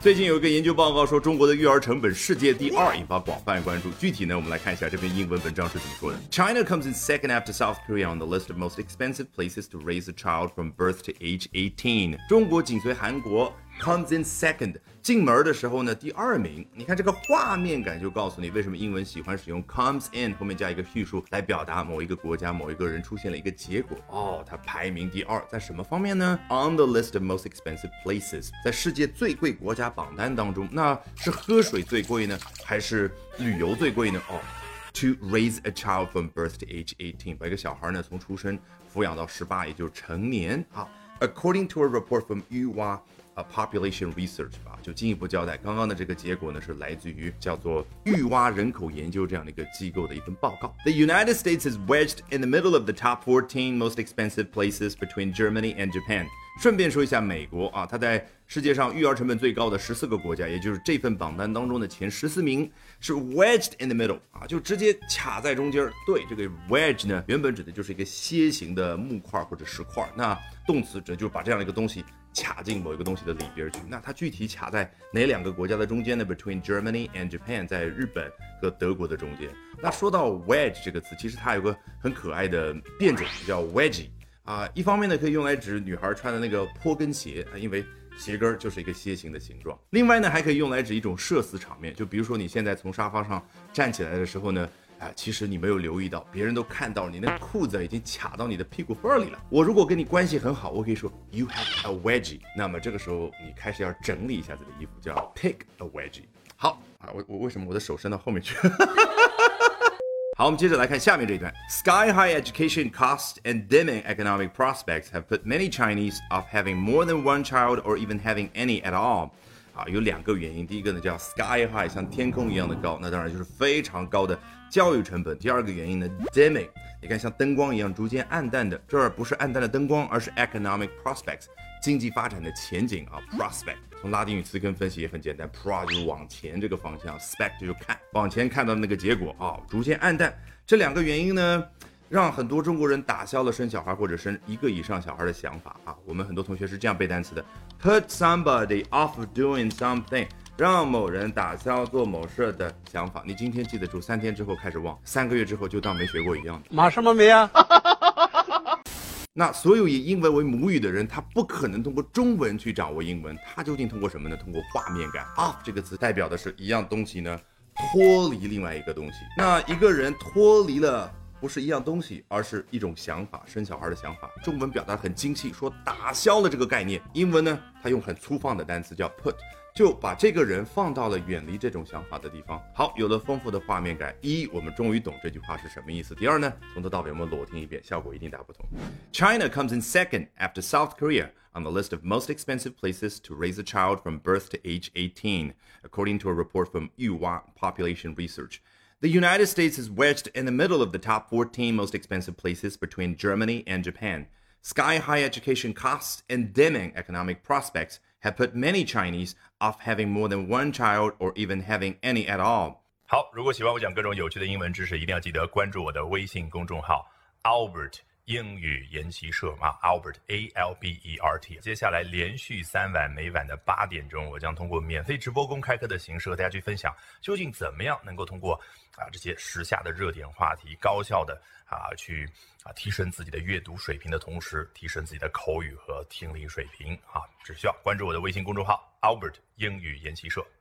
最近有一个研究报告说，中国的育儿成本世界第2，引发广泛关注。具体呢，我们来看一下这篇英文文章是怎么说的。China comes in second after South Korea on the list of most expensive places to raise a child from birth to age 18。中国紧随韩国 comes in second， 进门的时候呢第2名。你看这个画面感就告诉你为什么英文喜欢使用 comes in 后面加一个叙述来表达某一个国家某一个人出现了一个结果。它排名第2，在什么方面呢 ？On the list of most expensive places， 在世界最贵国家榜单当中，那是喝水最贵呢，还是旅游最贵呢？To raise a child from birth to age 18， 把一个小孩呢从出生抚养到18，也就是成年。According to a report from Population Research 就进一步交代，刚刚的这个结果呢是来自于叫做育蛙人口研究这样的一个机构的一份报告。The United States is wedged in the middle of the top 14 most expensive places between Germany and Japan。顺便说一下，美国它在世界上育儿成本最高的14个国家，也就是这份榜单当中的前14名是 wedged in the middle 就直接卡在中间。对，这个 wedge 呢，原本指的就是一个楔形的木块或者石块，那动词指就是把这样的一个东西卡进某一个东西的里边去。那它具体卡在哪2个国家的中间呢 ？Between Germany and Japan， 在日本和德国的中间。那说到 wedge 这个词，其实它有个很可爱的变种叫 wedgie。一方面呢可以用来指女孩穿的那个坡跟鞋，因为鞋跟就是一个楔形的形状。另外呢还可以用来指一种社死场面，就比如说你现在从沙发上站起来的时候呢，其实你没有留意到，别人都看到你那裤子已经卡到你的屁股缝里了。我如果跟你关系很好，我可以说 You have a wedgie， 那么这个时候你开始要整理一下自己的衣服，叫 pick a wedgie。好我为什么我的手伸到后面去好，我们接着来看下面这一段。Sky high education costs and dimming economic prospects have put many Chinese off having more than one child or even having any at all。有2个原因，第一个呢叫 sky high， 像天空一样的高，那当然就是非常高的教育成本。第2个原因呢 dimming， 你看像灯光一样逐渐暗淡的，这儿不是暗淡的灯光，而是 economic prospects， 经济发展的前景prospect。从拉丁语词根分析也很简单 ，pro 就是往前这个方向 ，spect 就是看，往前看到的那个结果逐渐暗淡。这2个原因呢，让很多中国人打消了生小孩或者生1个以上小孩的想法我们很多同学是这样背单词的 ：put somebody off doing something， 让某人打消做某事的想法。你今天记得住，3天之后开始忘，3个月之后就当没学过一样的。 马什么没啊？ 那所有以英文为母语的人，他不可能通过中文去掌握英文，他究竟通过什么呢？通过画面感。off 这个词代表的是一样东西呢脱离另外一个东西。那一个人脱离了不是一样东西，而是一种想法，生小孩的想法。中文表达很精细，说打消了这个概念。英文呢，它用很粗放的单词叫 put， 就把这个人放到了远离这种想法的地方。好，有了丰富的画面感，我们终于懂这句话是什么意思。第2呢，从头到尾我们裸听一遍，效果一定大不同。China comes in second after South Korea on the list of most expensive places to raise a child from birth to age 18, according to a report from Yuhua Population Research.The United States is wedged in the middle of the top 14 most expensive places between Germany and Japan. Sky-high education costs and dimming economic prospects have put many Chinese off having more than one child or even having any at all. 好，如果喜欢我讲各种有趣的英文知识，一定要记得关注我的微信公众号 Albert 英语研习社Albert ALBERT。接下来连续3晚，每晚的8点钟，我将通过免费直播公开课的形式和大家去分享，究竟怎么样能够通过这些时下的热点话题，高效的去提升自己的阅读水平的同时，提升自己的口语和听力水平只需要关注我的微信公众号 Albert 英语研习社。